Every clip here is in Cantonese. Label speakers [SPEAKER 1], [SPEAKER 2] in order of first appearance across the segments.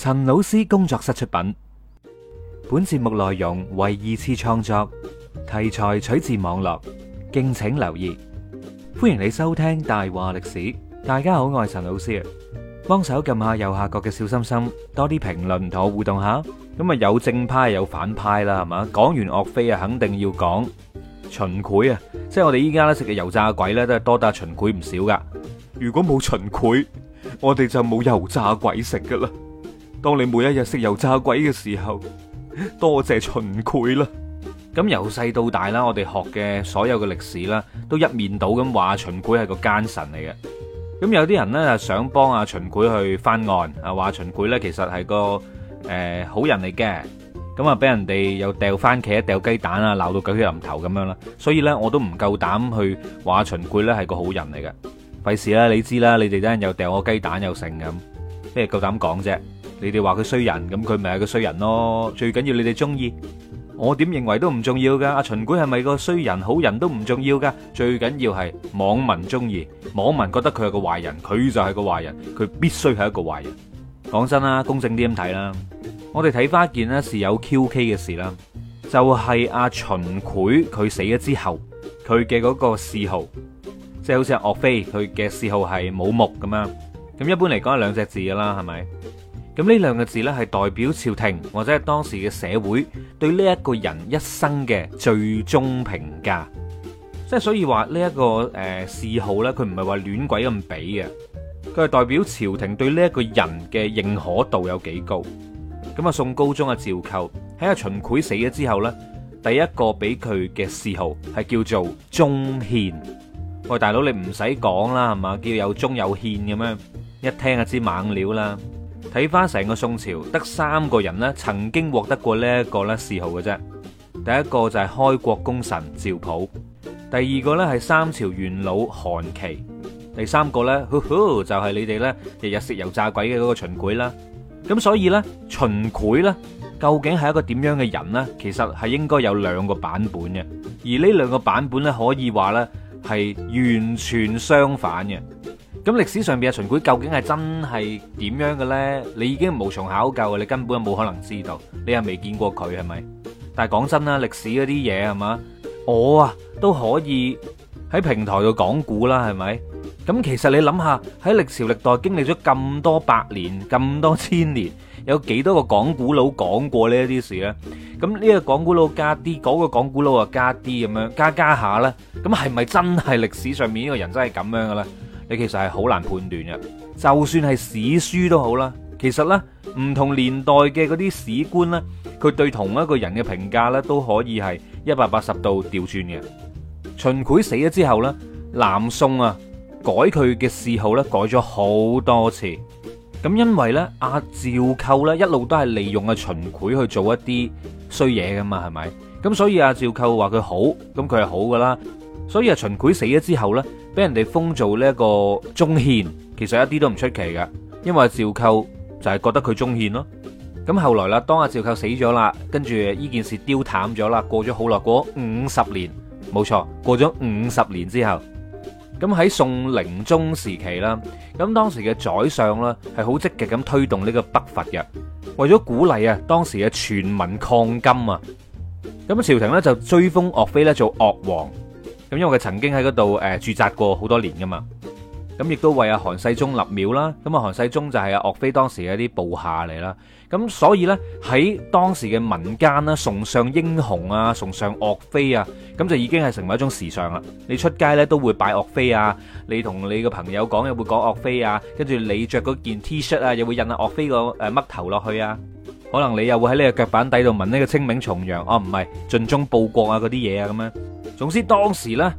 [SPEAKER 1] 陳老師工作室出品，本節目內容為二次創作，題材取自網絡，敬請留意。歡迎你收聽大話歷史。大家好，我係陳老師啊，幫手撳下右下角嘅小心心，多啲評論同我互動下。咁啊，有正派有反派啦，係嘛？講完岳飛啊，肯定要講秦檜啊，即係我哋依家咧食嘅油炸鬼咧，都係多得秦檜唔少噶。如果冇秦檜，我哋就冇油炸鬼食噶啦。當你每一日食油炸鬼嘅時候，多謝秦檜啦。咁由細到大啦，我哋學嘅所有嘅歷史啦，都一面倒咁話秦檜係個奸臣嚟嘅。咁有啲人呢，想幫阿秦檜去翻案啊，話秦檜呢其實係個好人嚟嘅。咁啊，俾人哋又掉番茄、掉雞蛋啊，鬧到狗血淋頭咁樣啦。所以呢，我都唔夠膽去話秦檜呢係個好人嚟嘅。費事啦，你知啦，你哋等人又掉我雞蛋又成咁，咩夠膽講啫？你哋話佢衰人，咁佢咪係個衰人咯？最緊要你哋中意，我點認為都唔重要噶。阿秦檜係咪個衰人好人都唔重要噶，最緊要係網民中意，網民覺得佢係個壞人，佢就係個壞人，佢必須係一個壞人。講真啦，公正啲咁睇啦，我哋睇翻一件呢事有 QK 嘅事啦，就係阿秦檜佢死咗之後，佢嘅嗰個諡號，即係好似阿岳飛佢嘅諡號係武穆咁樣。咁一般嚟講係兩隻字噶啦，係咪？咁呢兩個字呢，係代表朝廷或者係當時嘅社會對呢一個人一生嘅最終評價，即係所以話呢一個諡號呢，佢唔係話亂鬼咁俾嘅，佢係代表朝廷對呢一個人嘅認可度有幾高。咁啊，宋高宗啊趙構喺阿秦檜死咗之後呢，第一個俾佢嘅諡號係叫做忠獻。喂，大佬你唔使講啦，係嘛？叫有忠有獻咁樣，一聽就知猛料啦。睇翻成個宋朝，得3個人呢曾經獲得過呢一個咧諡號嘅啫。第一個就係開國功臣趙普，第二個呢係三朝元老韓琦，第三個呢，就係你哋呢日日食油炸鬼嘅嗰個秦檜啦。咁所以呢，秦檜呢究竟係一個點樣嘅人呢？其實係應該有2個版本嘅，而呢2個版本呢，可以話呢係完全相反嘅。咁歷史上邊嘅秦檜究竟係真係點樣嘅咧？你已經無從考究，你根本冇可能知道，你係未見過佢係咪？但係講真啦，歷史嗰啲嘢係嘛，我啊都可以喺平台度講古啦，係咪？咁其實你諗下，喺歷朝歷代經歷咗咁多百年、咁多千年，有幾多個講古佬講過呢一啲事咧？咁呢個講古佬加啲，嗰個講古佬啊加啲咁樣加下咧，咁係咪真係歷史上面呢個人真係咁樣嘅咧？你其實係好難判斷嘅，就算係史書都好啦。其實呢，唔同年代嘅嗰啲史官呢，佢對同一個人嘅評價呢，都可以係180度調轉嘅。秦檜死咗之後呢，南宋啊改佢嘅諡號呢，改咗好多次。咁因為呢，阿趙構呢一路都係利用阿秦檜去做一啲衰嘢噶嘛，係咪？咁所以阿趙構話佢好，咁佢係好噶啦。所以阿秦檜死咗之後呢，俾人哋封做呢一個忠獻，其實一啲都唔出奇嘅，因為趙構就係覺得佢忠獻咯。咁後來啦，當阿趙構死咗啦，跟住呢件事丟淡咗啦，過咗好耐，過咗50年，冇錯，過咗50年之後，咁喺宋寧宗時期啦，咁當時嘅宰相啦係好積極咁推動呢個北伐嘅，為咗鼓勵啊當時嘅全民抗金啊，咁朝廷呢就追封岳飛咧做岳王。咁因為佢曾經喺嗰度駐紮過好多年噶嘛，咁亦都為阿韓世忠立廟啦。咁啊韓世忠就係阿岳飛當時嘅一啲部下嚟啦。咁所以呢，喺當時嘅民間啦，崇尚英雄啊，崇尚岳飛啊，咁就已經係成為一種時尚啦。你出街呢，都會拜岳飛啊，你同你個朋友講又會講岳飛啊，跟住你着嗰件 T 恤啊，又會印阿岳飛個嘜頭落去啊。可能你又會喺呢個腳板底度紋呢個清明重陽，唔係盡忠報國啊嗰啲嘢啊咁樣。總之當時呢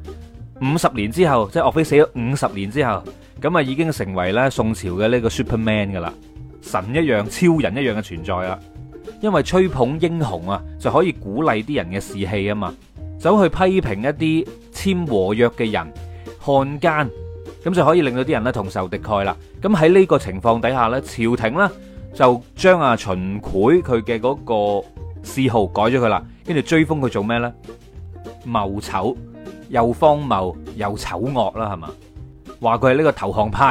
[SPEAKER 1] 50年之後，即係岳飛死咗50年之後，咁啊已經成為咧宋朝嘅呢個 Superman 噶啦，神一樣、超人一樣嘅存在啦。因為吹捧英雄啊，就可以鼓勵啲人嘅士氣啊嘛，走去批評一啲簽和約嘅人漢奸，咁就可以令到啲人咧同仇敵愾啦。咁喺呢個情況底下呢，朝廷呢就將阿秦檜佢嘅嗰個諡號改咗佢啦，跟住追封佢做咩呢？謀醜，又荒謬又醜惡啦，係嘛？話佢係呢個投降派，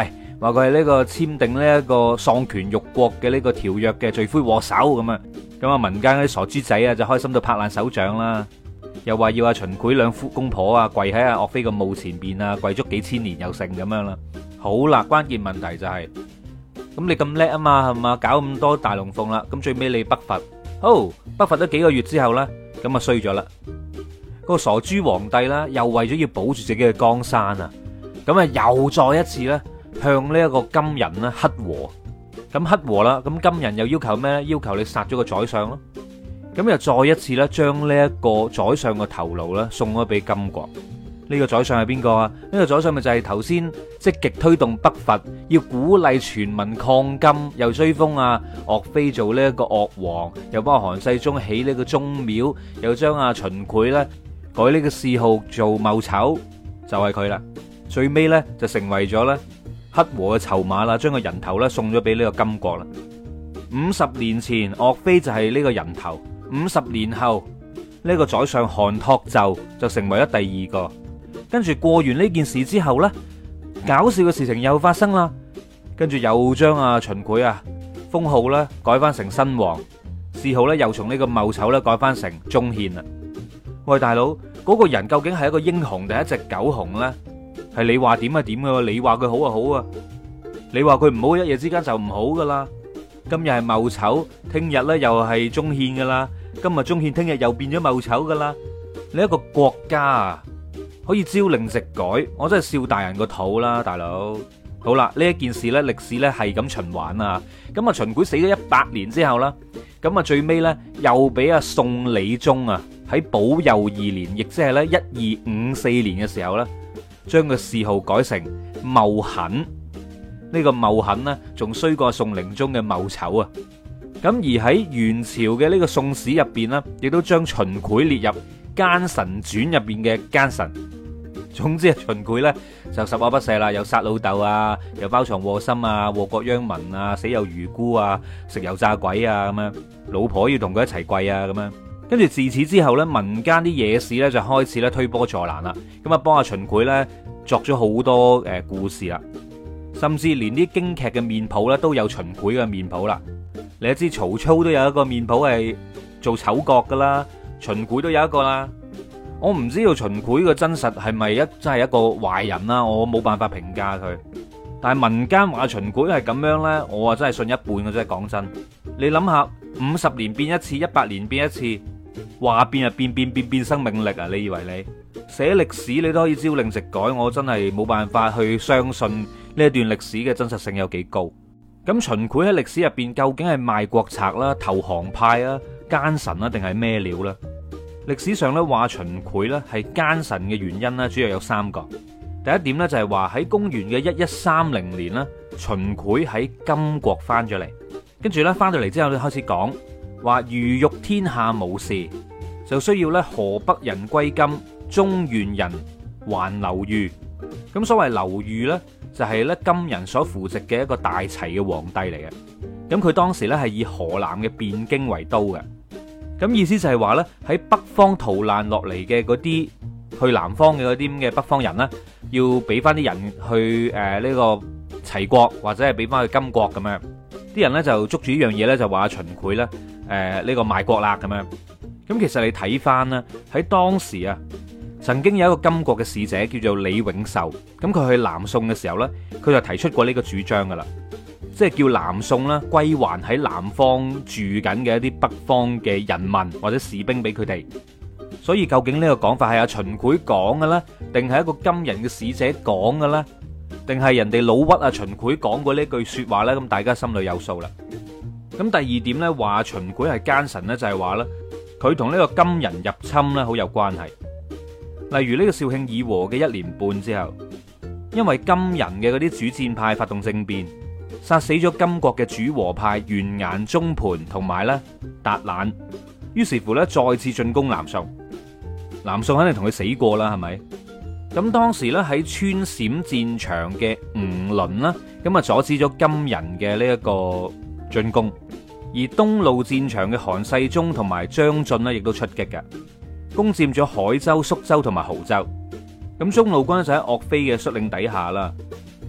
[SPEAKER 1] 話佢係呢個簽訂呢一個喪權辱國嘅呢個條約嘅罪魁禍首咁啊。咁啊，民間嗰啲傻豬仔啊就開心到拍爛手掌啦，又話要阿秦檜兩夫公婆啊跪喺阿岳飛個墓前邊啊，跪足幾千年又成咁樣啦。好啦，關鍵問題就係，咁你咁叻啊嘛，係嘛，搞咁多大龍鳳啦，咁最尾你北伐，好，北伐咗幾個月之後咧，咁啊衰咗啦。個傻豬皇帝啦，又為咗要保住自己嘅江山啊，咁啊又再一次咧向呢一個金人咧乞和。咁乞和啦，咁金人又要求咩咧？要求你殺咗個宰相咯。咁又再一次咧，將呢一個宰相嘅頭顱咧送咗俾金國。呢個宰相係邊個啊？呢個宰相咪就係頭先積極推動北伐，要鼓勵全民抗金，又追封啊岳飛做呢一個岳王，又幫韓世忠起呢個宗廟，又將阿秦檜咧改呢個諡號做茂丑，就係佢啦。最尾咧就成為咗咧乞和嘅籌碼啦，將個人頭咧送咗俾呢個金國啦。50年前岳飛就係呢個人頭，50年後呢個宰相韓托胄就成為咗第二個。跟住過完呢件事之後呢，搞笑嘅事情又發生啦。跟住又將阿秦檜啊封號咧改翻成新王，諡號咧又從呢個茂丑咧改翻成忠獻啦。喂，大佬，嗰個人究竟係一個英雄定係一隻狗熊呢？係你話點就點噶，你話佢好就好啊，你話佢唔好，一夜之間就唔好噶啦。今日係茂丑，聽日咧又係忠獻噶啦，今日忠獻，聽日又變咗茂丑噶啦。你一個國家啊，可以朝令夕改，我真係笑大人個肚啦，大佬。好啦，呢一件事咧，歷史咧係咁循環啊。咁啊，秦檜死咗100年之後啦，咁啊最尾咧又俾阿宋理宗啊喺保佑2年，亦即係咧1254年嘅時候咧，將個諡號改成茂狠。呢個茂狠呢，仲衰過宋靈宗嘅茂丑啊。咁而喺元朝嘅呢個宋史入邊呢，亦都將秦檜列入奸臣傳入邊嘅奸臣。總之啊，秦檜呢就十惡不赦啦，又殺老豆啊，又包藏禍心啊，禍國殃民啊，死有餘辜啊，食油炸鬼啊咁樣，老婆要同佢一齊跪啊咁樣。跟住自此之後呢，民間啲野史呢就開始咧推波助瀾啦，咁啊幫阿秦檜呢作咗好多故事啦。甚至連啲京劇嘅面譜咧都有秦檜嘅面譜啦。你都知曹操都有一個面譜係做丑角噶啦，秦檜都有一個啦。我唔知道秦檜嘅真實係咪真係一個壞人啦，我冇辦法評價佢。但係民間話秦檜係咁樣呢，我啊真係信一半嘅啫。講真，你諗下，50年變一次，100年變一次，話變就變生命力啊！你以為你寫歷史你都可以朝令夕改，我真係冇辦法去相信呢一段歷史嘅真實性有幾高。咁秦檜喺歷史入邊究竟係賣國賊啦、投降派啊、奸臣啊，定係咩料呢？歷史上咧話秦檜咧係奸臣嘅原因咧，主要有3個。第一點咧就係話喺公元嘅1130年啦，秦檜喺金國翻咗嚟，跟住咧翻到嚟之後咧開始講話，如欲天下無事，就需要咧河北人歸金，中原人還劉豫。咁所謂劉豫呢，就係咧金人所扶植嘅一個大齊嘅皇帝嚟嘅。咁佢當時咧係以河南嘅汴京為都嘅。咁意思就係話咧喺北方逃難落嚟嘅嗰啲去南方嘅嗰啲咁嘅北方人呢，要俾翻啲人去呢個齊國，或者係俾翻去金國咁樣。啲人呢就捉住呢樣嘢呢，就話秦檜咧呢個賣國啦咁樣。咁其實你睇翻呢，喺當時啊，曾經有一個金國嘅使者叫做李永壽，咁佢去南宋嘅時候呢，佢就提出過呢個主張噶啦，即係叫南宋啦歸還喺南方住緊嘅一啲北方嘅人民或者士兵俾佢哋。所以究竟呢個講法係阿秦檜講嘅咧，定係一個金人嘅使者講嘅咧，定係人哋老屈阿秦檜講過呢句說話呢？咁大家心裏有數啦。咁第二點呢，話秦檜係奸臣呢，就係話呢，佢同呢個金人入侵呢好有關係。例如呢個肇慶議和嘅1年半之後，因為金人嘅嗰啲主戰派發動政變，殺死咗金國嘅主和派完顏宗盤同埋咧達懶，於是乎咧再次進攻南宋。南宋肯定同佢死過啦，係咪？咁當時咧喺川陝戰場嘅吳倫啦，咁啊阻止咗金人嘅呢一個進攻，而東路戰場嘅韓世忠同埋張晉呢，亦都出擊嘅，攻佔咗海州、宿州同埋亳州。咁中路軍就喺岳飛嘅率領底下啦，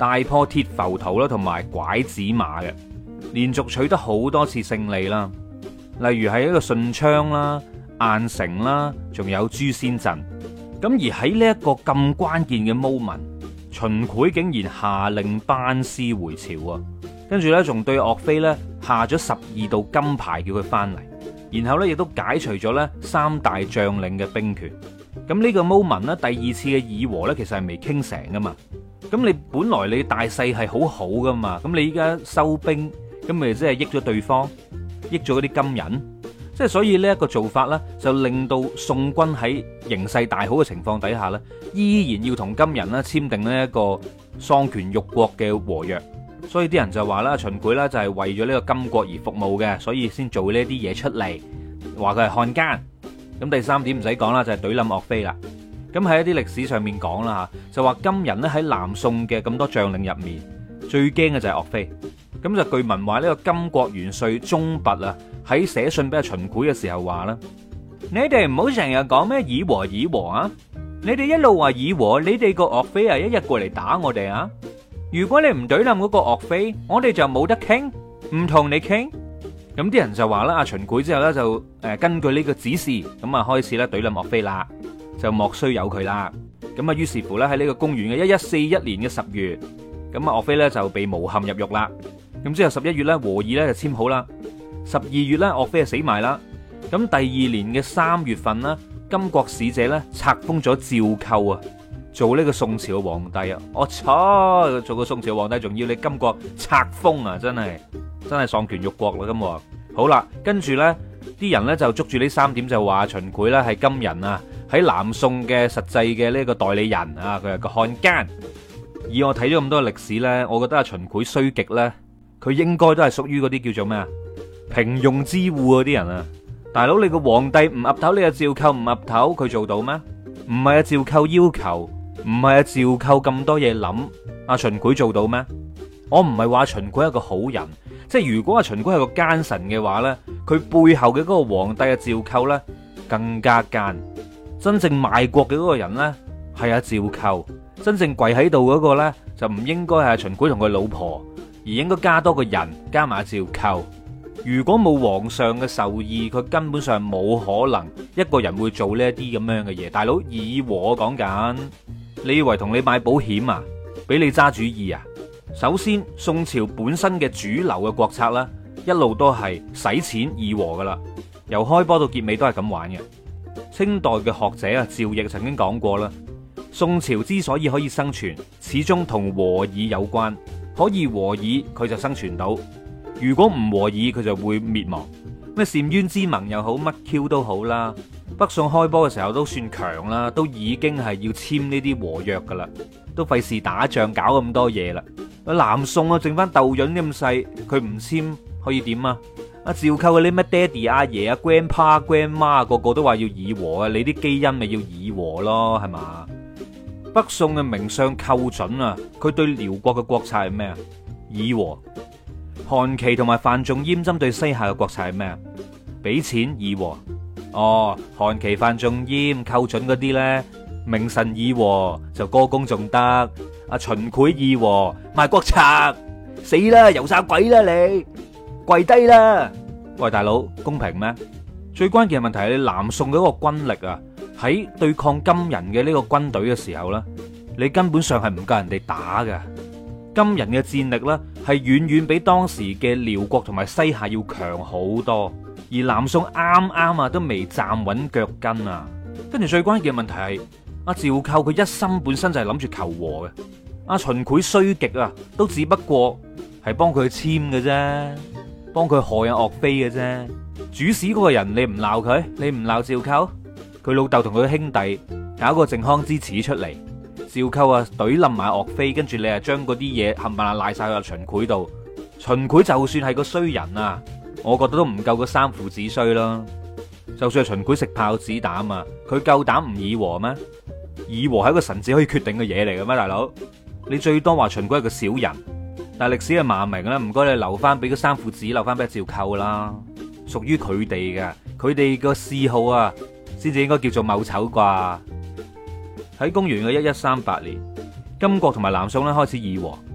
[SPEAKER 1] 大破鐵浮屠啦，同埋拐子馬嘅，連續取得好多次勝利啦。例如係一個順昌啦、郾城啦，仲有誅仙陣。咁而喺呢一個咁關鍵嘅 moment，秦檜竟然下令班師回朝啊！跟住呢，仲對岳飛呢下咗12道金牌叫佢翻嚟，然後呢，亦都解除咗呢3大將領嘅兵權。咁呢個 moment 呢，第二次嘅議和呢，其實係未傾成噶嘛。咁你本來你大勢係好好噶嘛，咁你依家收兵，咁咪即係益咗對方，益咗嗰啲金人。即係所以呢一個做法呢，就令到宋軍喺形勢大好嘅情況底下呢，依然要同金人呢簽訂呢一個喪權辱國嘅和約。所以啲人就話啦，秦檜呢就係為咗呢個金國而服務嘅，所以先做呢啲嘢出嚟，話佢係漢奸。咁第三點唔使講啦，就係懟冧岳飛啦。咁喺一啲歷史上面講啦吓，就話金人呢喺南宋嘅咁多將領入面，最驚嘅就係岳飛。咁就據聞話呢個金國元帥鍾拔啊，喺寫信俾阿秦檜嘅時候話啦：你哋唔好成日講咩以和以和啊！你哋一路話以和，你哋個岳飛啊一日過嚟打我哋啊！如果你唔懟冧嗰個岳飛，我哋就冇得傾，唔同你傾。咁啲人就話啦，阿秦檜之後咧就根據呢個指示，咁啊開始咧懟冧岳飛啦，就莫須有佢啦。咁啊於是乎咧喺呢個公元嘅1141年嘅10月，咁啊岳飛咧就被誣陷入獄啦。咁之後11月咧和議咧就簽好啦，12月咧岳飛就死埋啦。咁第二年嘅3月份呢，金國使者咧冊封咗趙構啊，做呢個宋朝嘅皇帝啊！我操，做個宋朝皇帝仲要你金國冊封啊，真係喪權辱國啦！咁好啦，跟住呢啲人呢就捉住呢3點就話秦檜呢係金人啊，喺南宋嘅實際嘅呢個代理人啊，佢係個漢奸。以我睇咗咁多歷史呢，我覺得阿秦檜衰極呢，佢應該都係屬於嗰啲叫做咩啊？平庸之惡嗰啲人啊！大佬，你個皇帝唔岌頭，你阿趙構唔岌頭，佢做到咩？唔係阿趙構要求，唔係阿趙構咁多嘢諗，阿秦檜做到咩？我唔係話秦檜係一個好人，即係如果阿秦檜係個奸臣嘅話呢，佢背後嘅嗰個皇帝阿趙構呢更加奸。真正賣國嘅嗰個人呢係阿趙構，真正跪喺度嗰個呢就唔應該係阿秦檜同佢老婆，而應該加多個人，加埋阿趙構。如果冇皇上嘅授意，佢根本上冇可能一個人會做呢一啲咁樣嘅嘢。大佬，以和講緊，你以為同你買保險啊？俾你揸主意啊？首先，宋朝本身嘅主流嘅國策呢，一路都係使錢議和噶啦，由開波到結尾都係咁玩嘅。清代嘅學者啊，趙翼曾經講過啦，宋朝之所以可以生存，始終同和議有關。可以和議，佢就生存到。如果唔和議，佢就會滅亡。咩澶淵之盟又好，乜 Q 都好啦。北宋開波嘅時候都算強啦，都已經係要簽呢啲和約噶啦，都費事打仗搞咁多嘢啦。南宋啊，剩翻豆潤咁細，佢唔簽可以點啊？阿趙構嗰啲咩爹哋阿爺啊、grandpa grandma 個個都話要議和啊，你啲基因咪要議和咯，係嘛？北宋嘅名相寇準啊，佢對遼國嘅國策係咩啊？議和。韓琦同埋范仲淹針對西夏嘅國策係咩啊？俾錢議和。哦，韓琦、范仲淹、寇準嗰啲咧，名臣議和就歌功頌德。阿秦檜議和賣國賊，死啦，油炸鬼啦你，跪低啦！喂，大佬，公平咩？最關鍵嘅問題係你南宋嗰個軍力啊，喺對抗金人嘅呢個軍隊嘅時候咧，你根本上係唔夠人哋打㗎。金人嘅戰力呢，係遠遠比當時嘅遼國同埋西夏要強好多，而南宋啱啱啊都未站穩腳跟啊。跟住最關鍵嘅問題係阿趙構佢一心本身就係諗住求和嘅，阿秦檜衰極啊，都只不過係幫佢簽嘅啫，幫佢害阿岳飛嘅啫。主使嗰個人你唔鬧佢，你唔鬧趙構，佢老豆同佢兄弟搞個靖康之恥出嚟。趙構啊，懟冧埋岳飛，跟住你啊將嗰啲嘢冚唪唥賴晒去秦檜度。秦檜就算係個衰人啊，我覺得都唔夠個三父子衰啦。就算係秦檜食炮子膽啊，佢夠膽唔議和咩？議和係一個臣子可以決定嘅嘢嚟嘅咩？大佬，你最多話秦檜係個小人，但係歷史嘅罵名咧，唔該你留翻俾個三父子，留翻俾趙構啦，屬於佢哋嘅，佢哋個嗜好啊，先至應該叫做謀醜啩。喺公元嘅1138年，金國同埋南宋咧開始議和，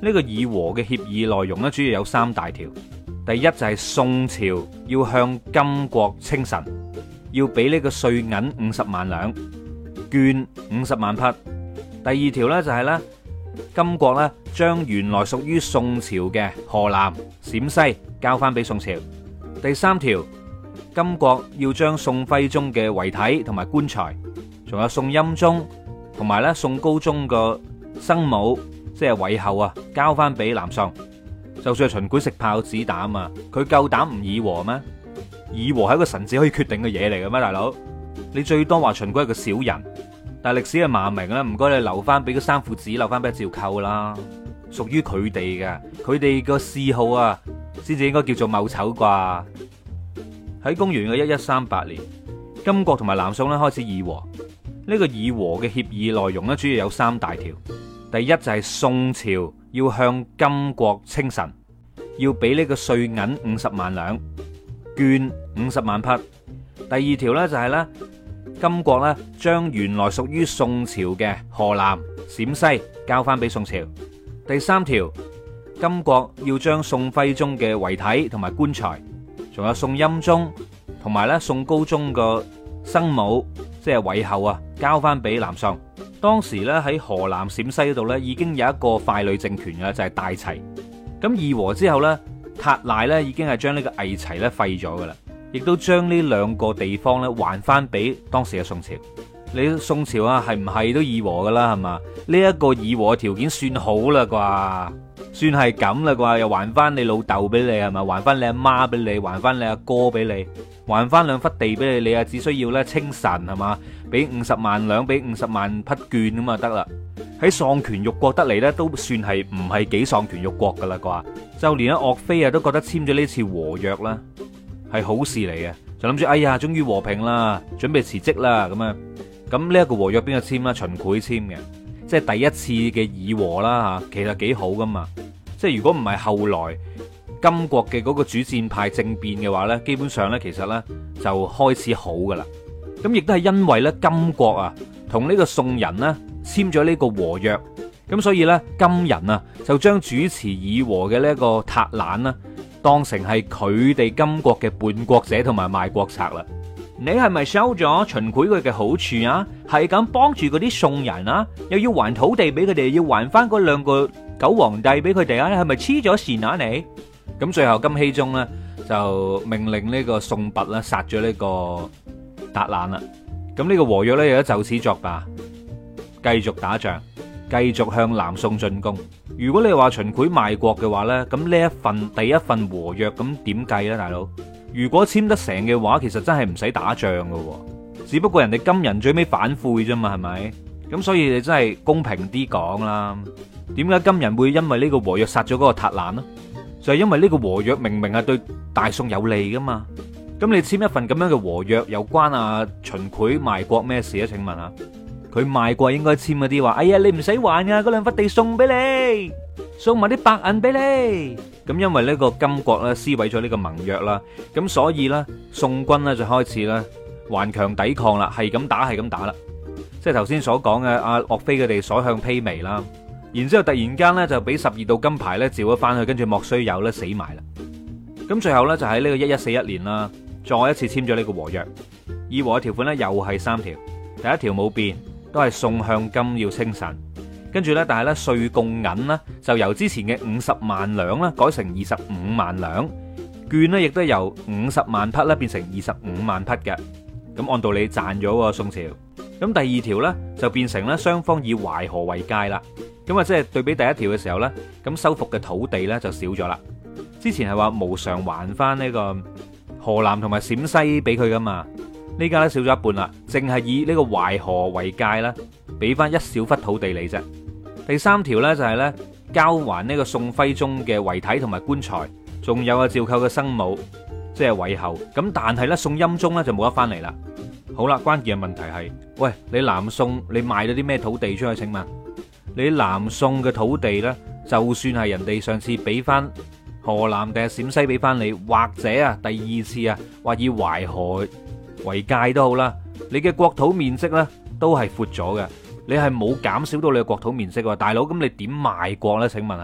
[SPEAKER 1] 呢個議和嘅協議內容咧，主要有三大條。第一就係宋朝要向金國稱臣，要俾呢個稅銀50萬兩，絹50萬匹。第二條呢，就係咧，金國咧將原來屬於宋朝嘅河南、陝西交翻俾宋朝。第三條，金國要將宋徽宗嘅遺體同埋棺材，仲有宋欽宗同埋咧宋高宗個生母，即係韋后啊，交翻俾南宋。就算係秦檜食炮子膽啊，佢夠膽唔議和咩？議和係一個臣子可以決定嘅嘢嚟嘅咩，大佬？你最多話秦檜係個小人，但係歷史嘅罵名咧，唔該你留翻俾個三父子，留翻俾趙構啦，屬於佢哋嘅，佢哋個嗜好啊，先至應該叫做戊丑啩。喺公元嘅1138年，金國同埋南宋咧開始議和。呢個議和嘅協議內容咧，主要有三大條。第一就係宋朝要向金國稱臣，要俾呢個稅銀50萬兩，絹50萬匹。第二條呢，就係咧，金國咧將原來屬於宋朝嘅河南、陝西交翻俾宋朝。第三條，金國要將宋徽宗嘅遺體同埋棺材，仲有宋欽宗同埋咧宋高宗個生母，即係韋后啊，交翻俾南宋。當時咧喺河南、陝西嗰度咧已經有一個傀儡政權嘅，就係大齊。咁議和之後咧，塔賴咧已經係將呢個偽齊咧廢咗噶啦，亦都將呢兩個地方咧還翻俾當時嘅宋朝。你宋朝啊，係唔係都議和噶啦？係嘛？呢一個議和嘅條件算好啦啩？算係咁啦啩？又還翻你老豆俾你係嘛？還翻你阿媽俾你，還翻你阿哥俾你，還翻兩忽地俾你，你啊只需要咧稱臣係嘛？俾50萬兩，俾50萬匹絹咁啊得啦。喺喪權辱國得嚟咧，都算係唔係幾喪權辱國噶啦啩？就連阿岳飛啊都覺得簽咗呢次和約啦係好事嚟嘅，就諗住哎呀終於和平啦，準備辭職啦咁啊。咁呢一個和約邊個簽啦？秦檜簽嘅，即係第一次嘅議和啦吓，其實幾好噶嘛。即係如果唔係後來金國嘅嗰個主戰派政變嘅話呢，基本上呢，其實呢就開始好噶啦。咁亦都係因為咧金國啊同呢個宋人呢簽咗呢個和約，咁所以呢，金人啊就將主持議和嘅呢個塔懶呢當成係佢哋金國嘅叛國者同埋賣國賊啦。你係咪收咗秦檜佢嘅好處啊？係咁幫住嗰啲宋人啊，又要還土地俾佢哋，要還翻嗰兩個狗皇帝俾佢哋啊？你係咪黐咗線啊你？咁最後金熙宗呢，就命令呢個宋拔啦殺咗呢個塔懶啦。咁呢個和約呢，亦都就此作罷，繼續打仗，繼續向南宋進攻。如果你話秦檜賣國嘅話呢，咁呢一份第一份和約咁點計呢，大佬？如果簽得成嘅話，其實真係唔使打仗噶，只不過人哋金人最尾反悔啫嘛，係咪？咁所以你真係公平啲講啦。點解金人會因為呢個和約殺咗嗰個塔懶呢？就係因為呢個和約明明係對大宋有利噶嘛。咁你簽一份咁樣嘅和約，又關阿秦檜賣國咩事啊？請問下，佢賣國應該簽嗰啲話，哎呀你唔使還啊，嗰兩忽地送俾你，送埋啲白銀俾你。咁因為呢個金國咧撕毀咗呢個盟約啦，咁所以咧宋軍咧就開始咧頑強抵抗啦，係咁打係咁打啦，即係頭先所講嘅阿岳飛佢哋所向披靡啦。然之後突然間咧就俾12道金牌咧召咗翻去，跟住莫須有咧死埋啦。咁最後咧就喺呢個1141年啦，再一次簽咗呢個和約。議和嘅條款咧又係3條，第一條冇變，都係宋向金要稱臣。跟住咧，但係咧稅貢銀呢，就由之前嘅50萬兩啦，改成25萬兩，絹呢亦都由50萬匹咧變成25萬匹嘅。咁按道理賺咗喎宋朝。咁第二條呢，就變成咧雙方以淮河為界啦。咁啊即係對比第一條嘅時候呢，咁收復嘅土地呢就少咗啦。之前係話無償還翻呢個河南同埋陝西俾佢噶嘛，呢家咧少咗一半啦，淨係以呢個淮河為界啦，俾翻一小忽土地你啫。第三條呢，就係咧交還呢個宋徽宗嘅遺體同埋棺材，仲有啊趙構嘅生母，即係韋后。咁但係咧宋欽宗咧就冇得翻嚟啦。好啦，關鍵嘅問題係，喂，你南宋你賣咗啲咩土地出去？請問你南宋嘅土地呢，就算係人哋上次俾翻河南定係陝西俾翻你，或者啊第二次啊話以淮河為界都好啦，你嘅國土面積呢，都係闊咗嘅。你係冇減少到你嘅國土面積喎，大佬，咁你點賣國呢？請問下，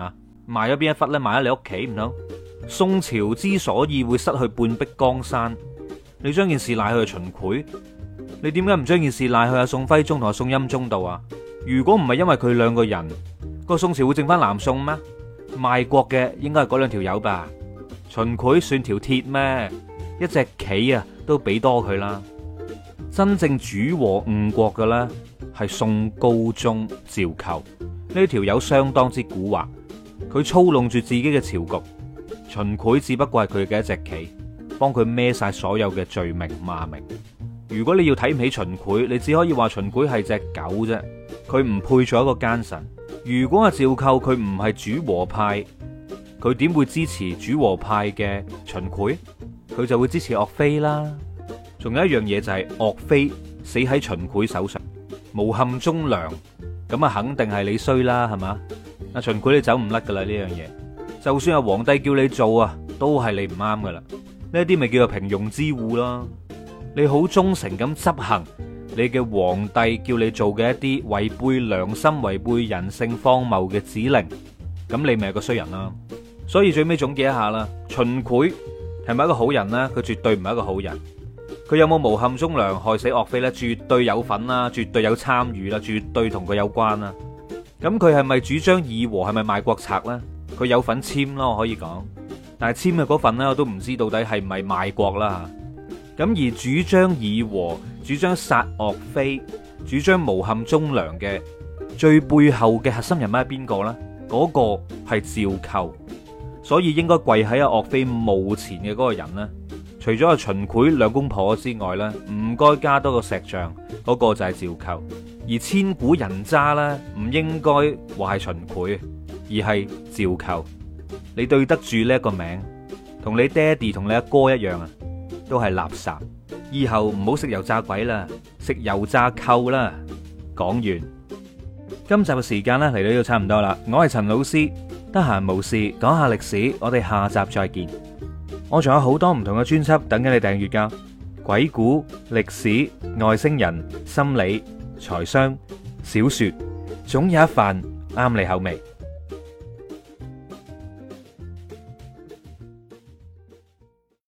[SPEAKER 1] 賣咗邊一忽呢？賣咗你屋企唔通？宋朝之所以會失去半壁江山，你將件事賴去秦檜，你點解唔將件事賴去阿宋徽宗同阿宋欽宗度啊？如果唔係因為佢兩個人，個宋朝會剩翻南宋咩？賣國嘅應該係嗰兩條友吧？秦檜算條鐵咩？一隻棋啊都俾多佢啦。真正主和誤國嘅咧係宋高宗趙構，呢條友相當之蠱惑，佢操弄住自己嘅朝局。秦檜只不過係佢嘅一隻棋，幫佢孭晒所有嘅罪名罵名。如果你要睇唔起秦檜，你只可以話秦檜係隻狗啫，佢唔配做一個奸臣。如果阿趙構佢唔係主和派，佢點會支持主和派嘅秦檜？佢就會支持岳飛啦。仲有一樣嘢就係岳飛死喺秦檜手上，誣陷忠良，咁啊肯定係你衰啦，係嘛？阿秦檜你走唔甩噶啦呢樣嘢。就算係皇帝叫你做啊，都係你唔啱噶啦。呢啲咪叫做平庸之惡咯。你好忠誠咁執行你嘅皇帝叫你做嘅一啲違背良心、違背人性、荒謬嘅指令，咁你咪係個衰人啦。所以最尾總結一下啦，秦檜係咪一個好人呢？佢絕對唔係一個好人。佢有冇誣陷忠良、害死岳飛呢？絕對有份啦，絕對有參與啦，絕對同佢有關啦。咁佢係咪主張議和？係咪賣國賊呢？佢有份簽咯，我可以講，但係簽嘅嗰份呢，我都唔知到底係咪賣國啦。咁而主張議和、主張殺岳飛、主張誣陷忠良嘅最背後嘅核心人物係邊個呢？嗰個係趙構，所以應該跪喺阿岳飛墓前嘅嗰個人呢，除咗阿秦檜兩公婆之外呢，唔該加多個石像，嗰個就係趙構。而千古人渣呢，唔應該話係秦檜，而係趙構。你對得住呢一個名，同你爹哋同你阿哥一樣啊，都係垃圾。以後唔好食油炸鬼啦，食油炸構啦。講完，今集嘅時間咧嚟到呢度差唔多啦。我係陳老師，得閒無事講下歷史，我哋下集再見。我仲有好多唔同嘅專輯等緊你訂閱噶，鬼故、歷史、外星人、心理、財商、小說，總有一瓣啱你口味。